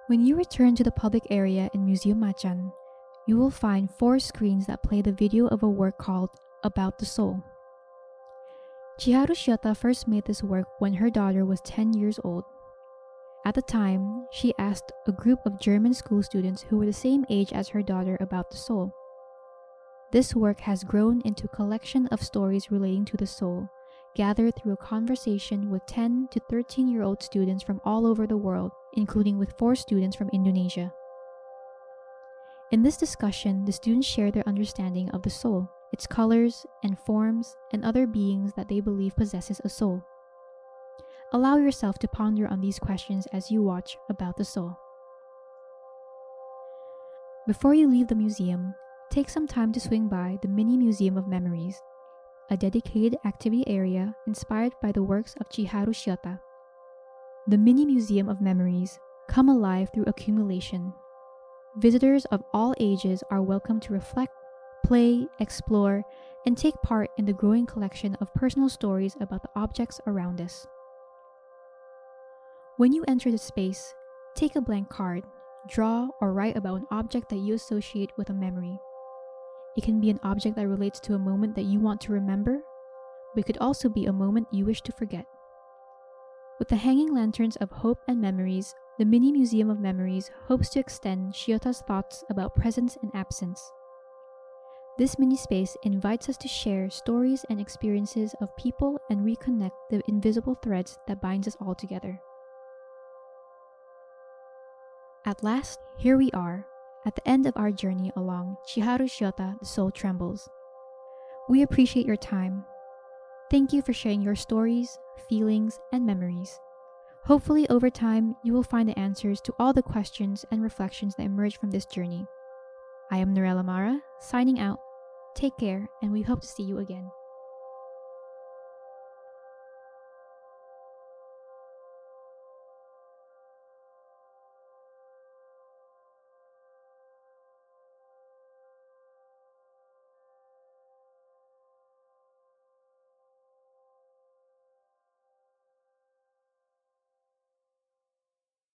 When you return to the public area in Museum Macan, you will find 4 screens that play the video of a work called About the Soul. Chiharu Shiota first made this work when her daughter was 10 years old. At the time, she asked a group of German school students who were the same age as her daughter about the soul. This work has grown into a collection of stories relating to the soul, gathered through a conversation with 10 to 13-year-old students from all over the world, including with 4 students from Indonesia. In this discussion, the students share their understanding of the soul, its colors and forms, and other beings that they believe possesses a soul. Allow yourself to ponder on these questions as you watch About the Soul. Before you leave the museum, take some time to swing by the Mini Museum of Memories, a dedicated activity area inspired by the works of Chiharu Shiota. The Mini Museum of Memories come alive through accumulation. Visitors of all ages are welcome to reflect, play, explore, and take part in the growing collection of personal stories about the objects around us. When you enter the space, take a blank card, draw or write about an object that you associate with a memory. It can be an object that relates to a moment that you want to remember, but it could also be a moment you wish to forget. With the hanging lanterns of hope and memories, the Mini Museum of Memories hopes to extend Shiota's thoughts about presence and absence. This mini space invites us to share stories and experiences of people and reconnect the invisible threads that binds us all together. At last, here we are, at the end of our journey along Chiharu Shiota, The Soul Trembles. We appreciate your time. Thank you for sharing your stories, feelings, and memories. Hopefully, over time, you will find the answers to all the questions and reflections that emerge from this journey. I am Norella Mara, signing out. Take care, and we hope to see you again.